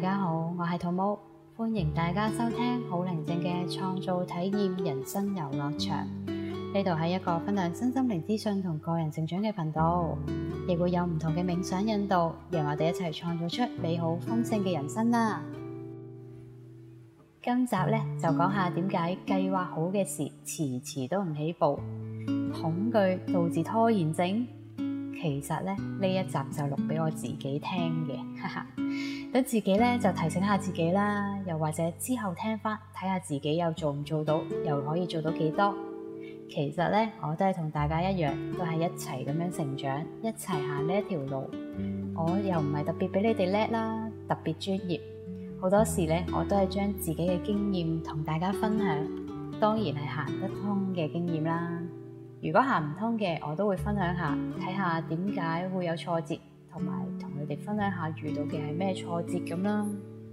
家好，我係兔毛，歡迎大家收聽好寧靜嘅創造體驗人生遊樂場。呢度係一個分享身心靈資訊同個人成長嘅頻道，亦會有唔同嘅冥想引導，讓我哋一齊創造出美好豐盛嘅人生啦。今集呢，就講下點解計劃好嘅事遲遲都唔起步，恐懼導致拖延症。其實呢一集就錄俾我自己聽嘅，等自己呢就提醒下自己啦，又或者之後聽翻睇下自己又做唔做到，又可以做到幾多。其實呢，我都係同大家一樣，都係一齊咁樣成長，一齊行呢一條路。我又唔係特別比你哋叻啦，特別專業。好多時呢，我都係將自己嘅經驗同大家分享，當然係行得通嘅經驗啦。如果行唔通嘅，我都會分享下，睇下點解會有挫折，同埋同你哋分享下遇到嘅係咩挫折咁啦。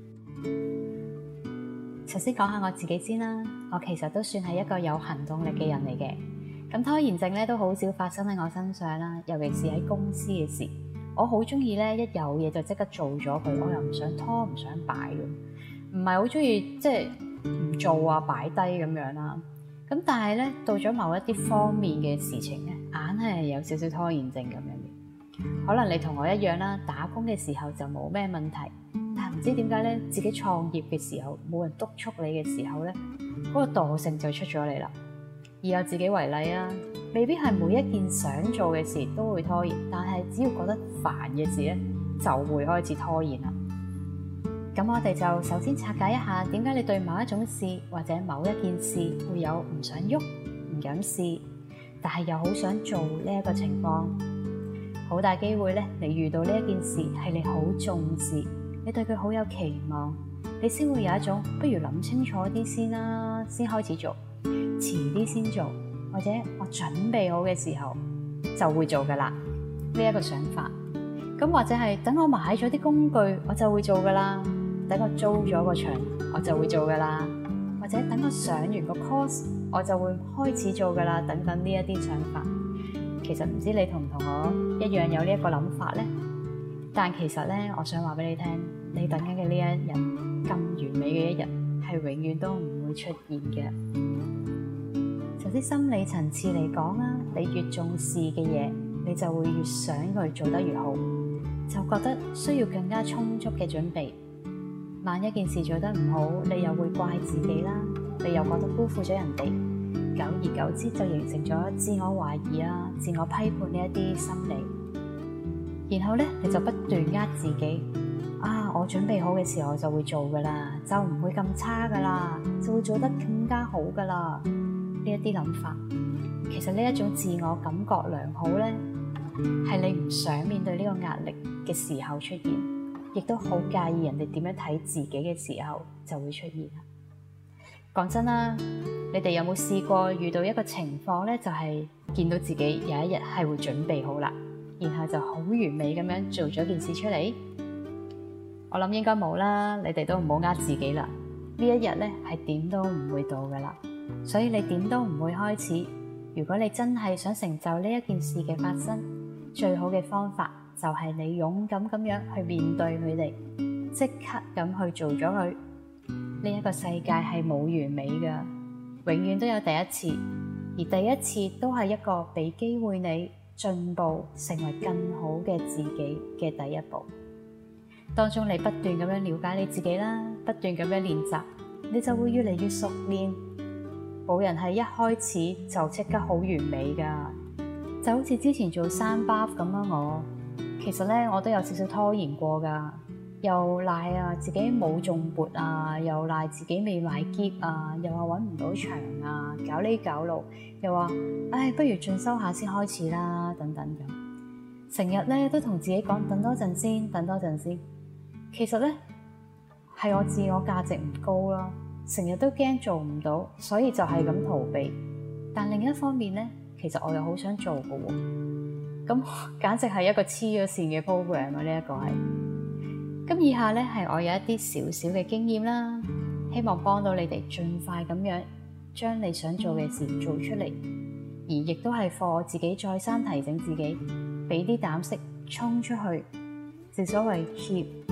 首先講下我自己先啦，我其實都算係一個有行動力嘅人嚟嘅。咁拖延症咧都好少發生喺我身上啦，尤其是喺公司嘅事，我好中意咧一有嘢就即刻做咗佢，我又唔想拖唔想擺嘅，唔係好中意即係唔做啊擺低咁樣啦。咁但係咧，到咗某一啲方面嘅事情咧，硬係有少少拖延症咁樣嘅。可能你同我一樣啦，打工嘅時候就冇咩問題，但係唔知點解咧，自己創業嘅時候冇人督促你嘅時候咧，嗰個惰性就出咗嚟啦。以我自己為例啊，未必係每一件想做嘅事都會拖延，但係只要覺得煩嘅事咧，就會開始拖延啦。咁我哋就首先拆解一下，點解你對某一種事或者某一件事會有唔想喐、唔敢試，但係又好想做呢一個情況。好大機會咧，你遇到呢一件事係你好重視，你對佢好有期望，你先會有一種不如諗清楚啲先啦，先開始做，遲啲先做，或者我準備好嘅時候就會做噶啦，呢一個想法。咁或者係等我買咗啲工具，我就會做噶啦。等我租咗個場，我就會做噶啦。或者等我上完個 course，我就會開始做噶啦。等等呢一啲想法，其實唔知你同唔同我一樣有呢一個諗法呢？但其實呢，我想話俾你聽，你等緊嘅呢一日咁完美嘅一日，係永遠都唔會出現嘅。就啲心理層次嚟講啦，你越重視嘅嘢，你就會越想佢做得越好，就覺得需要更加充足嘅準備。萬一件事做得唔好，你又會怪自己啦，你又覺得辜負咗人哋，久而久之就形成咗自我懷疑啊、自我批判呢一啲心理。然後咧，你就不斷呃自己啊，我準備好嘅時候我就會做噶啦，就唔會咁差噶啦，就會做得更加好噶啦。呢一啲諗法，其實呢一種自我感覺良好咧，係你唔想面對呢個壓力嘅時候出現，亦都好介意人哋點樣睇自己嘅時候就會出現。講真啦，你哋有冇試過遇到一個情況咧，就係見到自己有一日係會準備好啦，然後就好完美咁樣做咗件事出嚟？我諗應該冇啦，你哋都唔好呃自己啦。呢一日咧係點都唔會到噶啦，所以你點都唔會開始。如果你真係想成就呢一件事嘅發生，最好嘅方法就係你勇敢咁樣去面對佢哋，即刻咁去做咗佢。呢一個世界係冇完美噶，永遠都有第一次，而第一次都係一個俾機會你進步，成為更好嘅自己嘅第一步。當中你不斷咁樣了解你自己啦，不斷咁樣練習，你就會越嚟越熟練。冇人係一開始就即刻好完美噶，就好似之前做3 buff 咁啦。我其實咧，我都有少少拖延過噶，又賴啊自己冇中撥啊，又賴自己未買篋啊，又話搵唔到場啊，搞呢搞路，又話唉，不如進修下先開始啦，等等咁。成日咧都同自己講等多陣先，等多陣先。其實咧係我自我價值唔高啦，成日都驚做唔到，所以就係咁逃避。但另一方面咧，其實我又好想做嘅喎，咁簡直係一個黐咗線嘅 program 啊！呢一個係咁。以下咧係我有一啲少少嘅經驗啦，希望幫到你哋盡快咁樣將你想做嘅事做出嚟，而亦都係課我自己再三提醒自己，俾啲膽識衝出去。正所謂 keep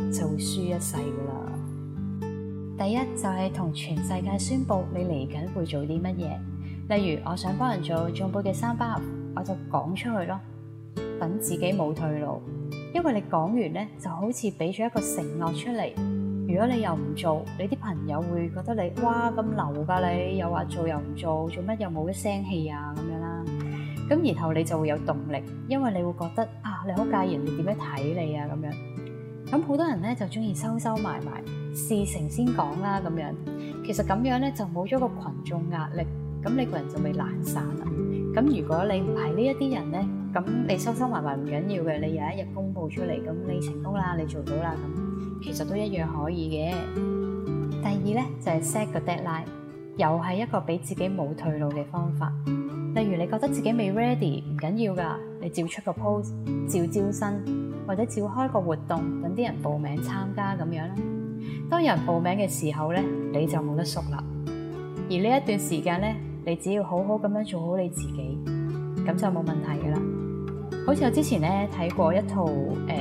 就會輸一世噶啦。第一就係同全世界宣佈你嚟緊會做啲乜嘢，例如我想幫人做頌缽嘅三巴，我就講出去咯，等自己冇退路。因為你講完咧，就好似俾咗一個承諾出嚟。如果你又唔做，你啲朋友會覺得你哇咁流㗎，你又話做又唔做，做乜又冇一聲氣啊咁樣啦。咁然後你就會有動力，因為你會覺得啊，你好介意人哋點樣睇你啊咁樣。咁好多人咧就中意收收埋埋，事成先講啦咁樣。其實咁樣咧就冇咗個群眾壓力，咁你個人就會懶散啦。咁如果你唔係呢一啲人咧，咁你收收埋埋唔緊要嘅，你有一日公佈出嚟，咁你成功啦，你做到啦，咁其實都一樣可以嘅。第二咧就係 set 個 deadline，又係一個俾自己冇退路嘅方法。例如你覺得自己未 ready，唔緊要㗎，你照出個 post，照招生，或者照開個活動，等啲人報名參加咁樣啦。當有人報名嘅時候咧，你就冇得縮啦。而呢一段時間咧，你只要好好咁樣做好你自己，咁就冇問題㗎啦。好似我之前咧睇過一套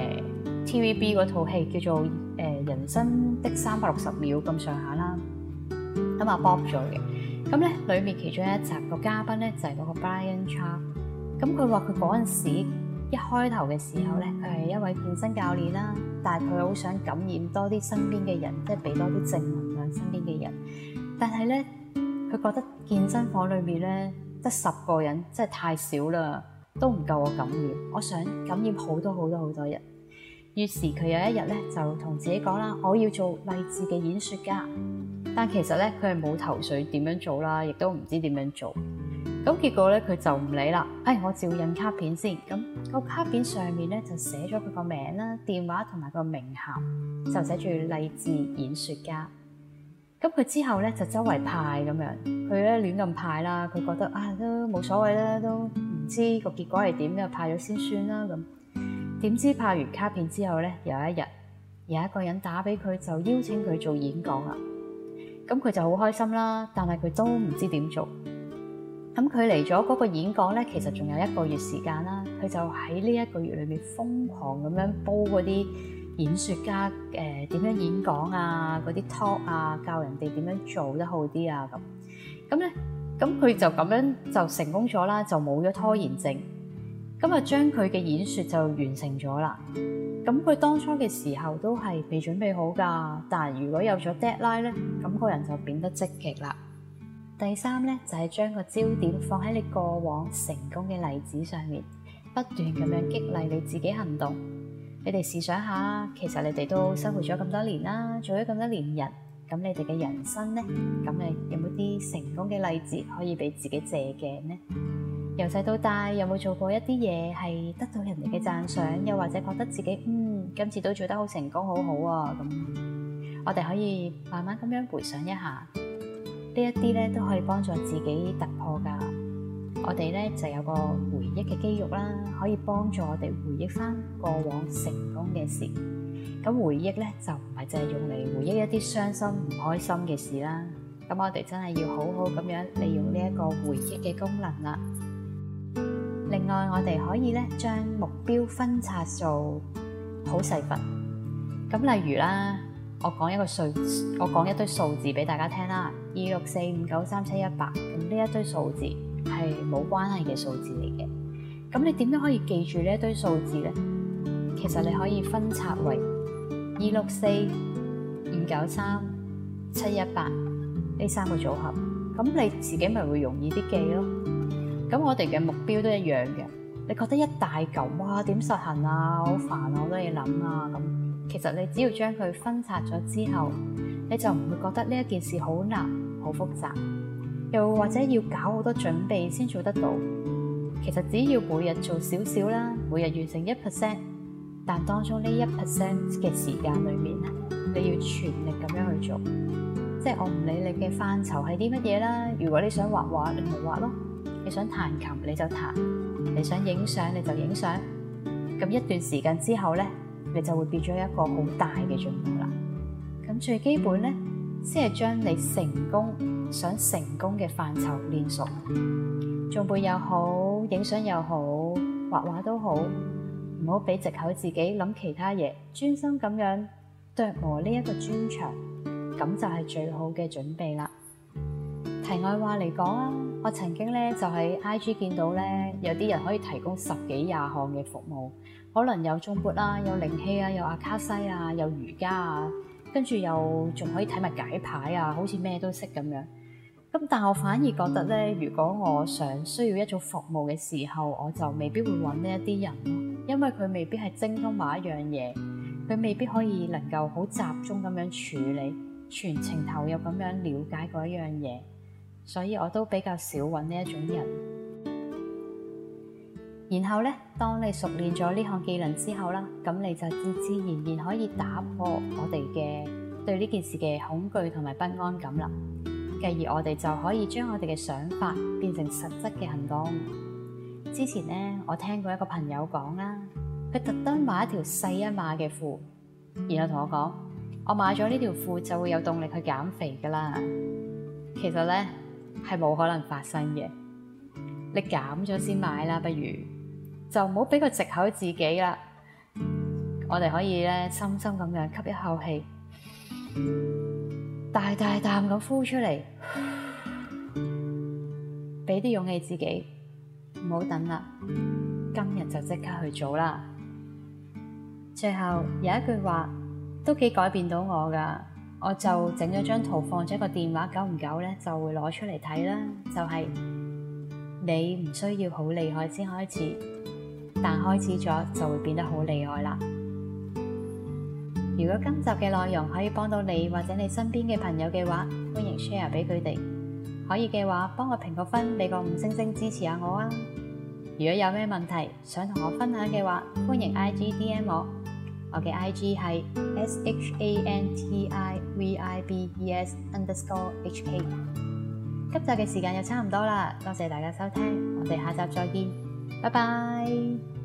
TVB 嗰套戲叫做人生的360秒咁上下啦，咁阿 Bob 做嘅。咁咧裏面其中一集個嘉賓咧就係嗰個 Brian Charles。咁佢話佢嗰陣時一開頭嘅時候咧，佢係一位健身教練啦，但係佢好想感染多啲身邊嘅人，即係俾多啲正能量身邊嘅人。但係咧，佢覺得健身房裏面咧得10個人，真係太少啦，都唔夠我感染。我想感染好多好多好多人。於是佢有一日咧就同自己講啦，我要做勵志嘅演說家。但其實咧佢係冇頭緒點樣做啦，亦都唔知點樣做。咁結果咧佢就唔理啦，我照印卡片先。咁個卡片上面咧就寫咗佢個名啦、電話同埋個名銜，就寫住勵志演說家。咁佢之後咧就周圍派咁樣，佢咧亂咁派啦，佢覺得都冇所謂啦，都唔知個結果係點嘅，派咗先算啦咁。點知派完卡片之後咧，有一日有一個人打俾佢，就邀請佢做演講啦。咁佢就好開心啦，但係佢都唔知點做。咁佢嚟咗嗰個演講咧，其實仲有1個月時間啦。佢就喺呢1個月裏面瘋狂咁樣煲嗰啲演說家點樣演講啊，嗰啲 talk 啊，教人哋點樣做得好啲啊咁咧，咁佢就咁樣就成功咗啦，就冇咗拖延症。咁啊，將佢嘅演說就完成咗啦。咁佢當初嘅時候都係未準備好㗎，但係如果有咗 deadline 咧，咁個人就變得積極啦。第三咧就係將個焦點放喺你過往成功嘅例子上面，不斷咁樣激勵你自己行動。你哋試想下，其實你哋都生活咗咁多年啦，做咗咁多年人，咁你哋嘅人生咧，咁你有冇啲成功嘅例子可以俾自己借鏡呢？由細到大有冇做過一啲嘢係得到人哋嘅讚賞，又或者覺得自己今次都做得好成功，好好啊咁，我哋可以慢慢咁樣回想一下，呢一啲咧都可以幫助自己突破㗎。我哋咧就有個回憶嘅肌肉啦，可以幫助我哋回憶返過往成功嘅事。咁回憶咧就唔係淨係用嚟回憶一啲傷心唔開心嘅事啦。咁我哋真係要好好咁樣利用呢一個回憶嘅功能啦。另外，我哋可以咧將目標分拆做好細份。咁例如啦，我講一堆數字俾大家聽啦，264593718。咁呢一堆數字係冇關係嘅數字嚟嘅。咁你點樣可以記住呢一堆數字咧？其實你可以分拆為264593718呢3個組合。咁你自己咪會容易啲記咯。咁我哋嘅目標都一樣嘅。你覺得一大嚿，哇，點實行啊？好煩啊，好多嘢諗啊咁。其實你只要將佢分拆咗之後，你就唔會覺得呢一件事好難、好複雜，又或者要搞好多準備先做得到。其實只要每日做少少啦，每日完成1%，但當中呢1% 嘅時間裏面咧，你要全力咁樣去做。即係我唔理你嘅範疇係啲乜嘢啦。如果你想畫畫，你咪畫咯。你想彈琴你就彈，你想影相你就影相。咁一段時間之後咧，你就會變咗一個好大嘅進步啦。咁最基本咧，先係將你想成功嘅範疇練熟。頌缽又好，影相又好，畫畫都好，唔好俾藉口自己諗其他嘢，專心咁樣琢磨呢一個專長，咁就係最好嘅準備啦。題外話嚟講啊，我曾經咧就喺 IG 見到咧有啲人可以提供10幾20項嘅服務，可能有頌缽啊，有靈氣啊，有阿卡西啊，有瑜伽啊，跟住又仲可以睇埋解牌啊，好似咩都識咁樣。咁但我反而覺得咧，如果我想需要一種服務嘅時候，我就未必會揾呢一啲人咯，因為佢未必係精通某一樣嘢，佢未必可以能夠好集中咁樣處理，全程投入咁樣了解嗰一樣嘢，所以我都比較少揾呢一種人。然後咧，當你熟練咗呢項技能之後啦，咁你就自然可以打破我哋嘅對呢件事嘅恐懼同埋不安感啦。繼而我哋就可以將我哋嘅想法變成實質嘅行動。之前咧，我聽過一個朋友講啦，佢特登買一條細一碼嘅褲，然後同我講：我買咗呢條褲就會有動力去減肥噶啦。其實咧係冇可能發生嘅，你減咗先買啦，不如就唔好俾個藉口自己啦。我哋可以咧深深咁樣吸一口氣，大大啖咁呼出嚟，俾啲勇氣自己，唔好等啦，今日就即刻去做啦。最後有一句話都幾改變到我噶，我就整咗張圖放咗個電話，久唔久咧就會攞出嚟睇啦。就係你唔需要好厲害先開始，但開始咗就會變得好厲害啦。如果今集嘅內容可以幫到你或者你身邊嘅朋友嘅話，歡迎 share 俾佢哋。可以嘅話，幫我評個分，俾個5星星支持下我啊！如果有咩問題想同我分享嘅話，歡迎 IG DM 我。我嘅 IG 係 SHANTIVIBES_HK。今集嘅時間又差唔多啦，多謝大家收聽，我哋下集再見，拜拜。